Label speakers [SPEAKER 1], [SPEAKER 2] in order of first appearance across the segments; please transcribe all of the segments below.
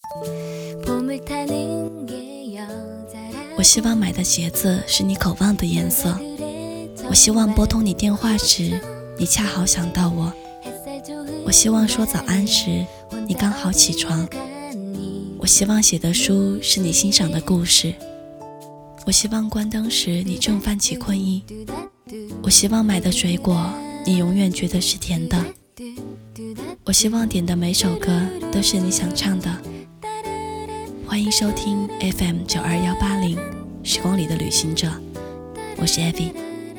[SPEAKER 1] 我希望买的鞋子是你渴望的颜色，我希望拨通你电话时你恰好想到我，我希望说早安时你刚好起床，我希望写的书是你欣赏的故事，我希望关灯时你正泛起困意，我希望买的水果你永远觉得是甜的，我希望点的每首歌都是你想唱的。欢迎收听 FM 92180时光里的旅行者，我是 Abby。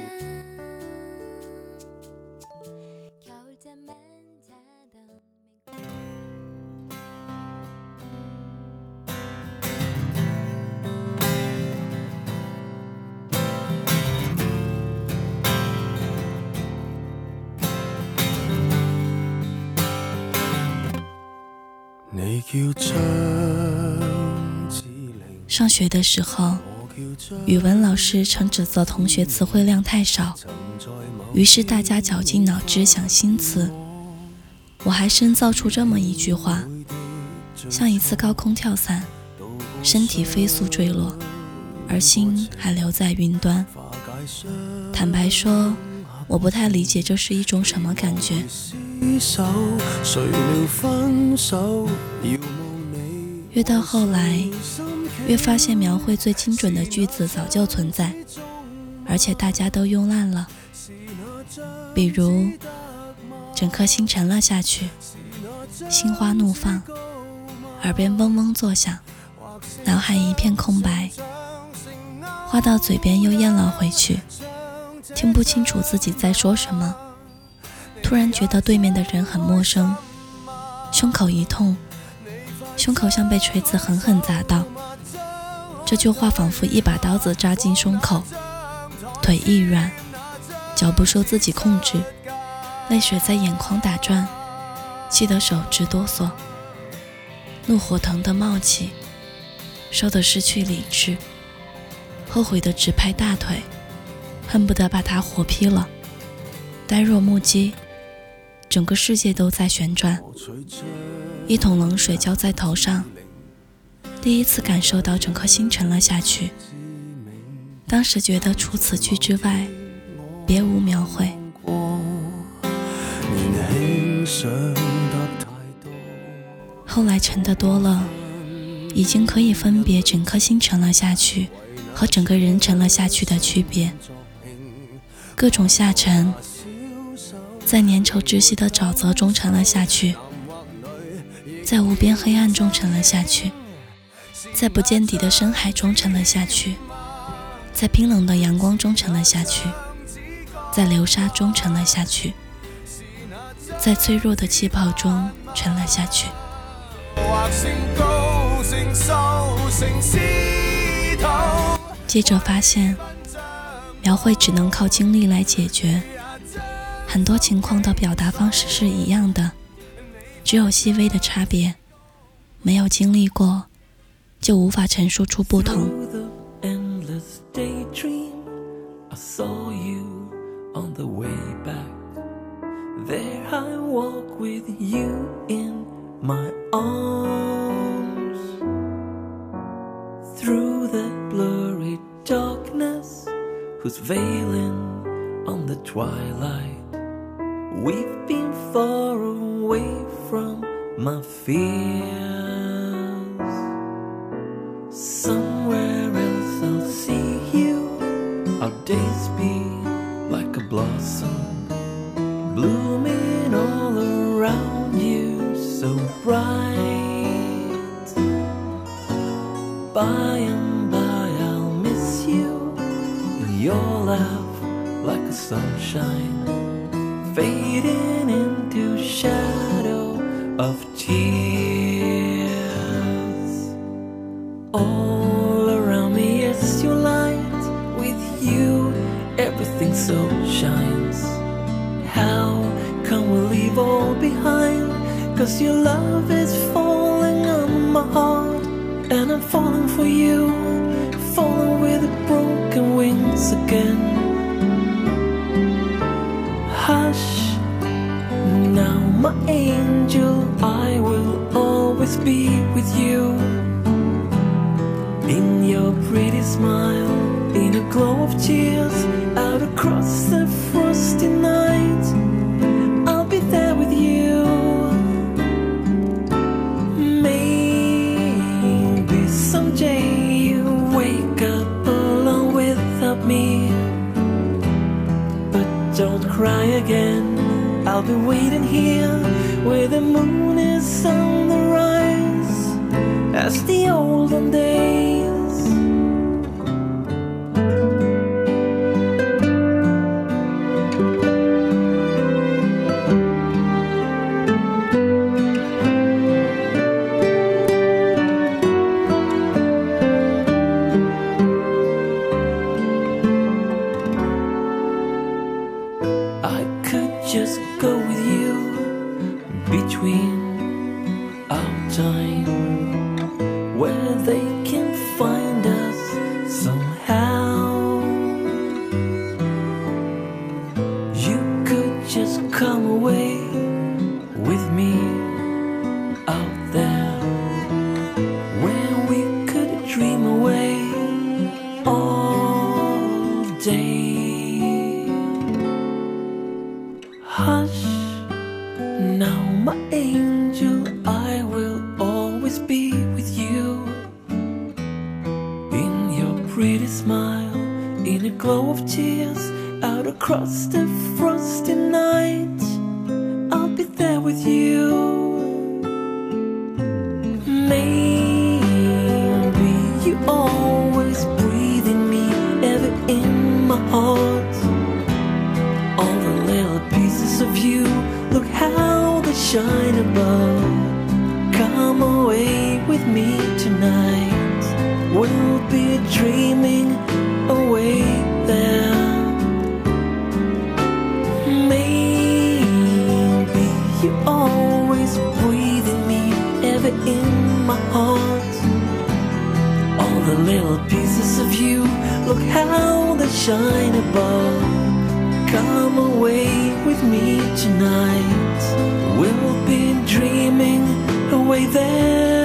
[SPEAKER 1] 上学的时候，语文老师常指责同学词汇量太少，于是大家绞尽脑汁想新词。我还深造出这么一句话：像一次高空跳伞，身体飞速坠落，而心还留在云端。坦白说，我不太理解这是一种什么感觉。越到后来，越发现描绘最精准的句子早就存在，而且大家都用烂了。比如整颗心沉了下去，心花怒放，耳边嗡嗡作响，脑海一片空白，话到嘴边又咽了回去，听不清楚自己在说什么，突然觉得对面的人很陌生，胸口一痛，胸口像被锤子狠狠砸到，这句话仿佛一把刀子扎进胸口，腿一软，脚不受自己控制，泪水在眼眶打转，气得手直哆嗦，怒火腾地冒起，烧得失去理智，后悔地直拍大腿，恨不得把它活劈了，呆若木鸡，整个世界都在旋转。一桶冷水浇在头上，第一次感受到整颗心沉了下去。当时觉得除此句之外别无描绘。后来沉得多了，已经可以分别整颗心沉了下去和整个人沉了下去的区别。各种下沉，在粘稠窒息的沼泽中沉了下去，在无边黑暗中沉了下去，在不见底的深海中沉了下去，在冰冷的阳光中沉了下去，在流沙中沉了下去，在脆弱的气泡中沉了下去。接着发现，描绘只能靠经历来解决，很多情况的表达方式是一样的，只有细微的差别，没有经历过，就无法陈述出不同。Who's veiling on the twilight? We've been far away from my fears. Somewhere else I'll see you. Our days be like a blossom, blooming all around you, so bright. By and by I'll miss you.Your laugh like a sunshine, fading into shadow of tears. All around me is your light, with you everything so shines. How can we leave all behind? 'Cause your love is falling on my heart, and I'm falling for you.Falling with broken wings again. Hush, now my angel, I will always
[SPEAKER 2] be with you. In your pretty smile, in a glow of tears, out across the frosty night, I'll be there with you. Maybe someday you wake up alone without me, but don't cry again. I'll be waiting here where the moon is on the rise, as the olden days. I could just go with you between our time, where they can find us somehow. You could just come away with me out there, where we could dream away all day. Hush, now my angel, I will always be with you. In your pretty smile, in a glow of tears, out across the frosty night, I'll be there with you. Maybe you always breathe in me, ever in my heart. All the little pieces of you, look how they shine above. Come away with me tonight, we'll be dreaming away there. Maybe you always breathe in me, ever in my heart. All the little pieces of you, look how they shine above. Come away with me tonight, we'll be dreaming away there.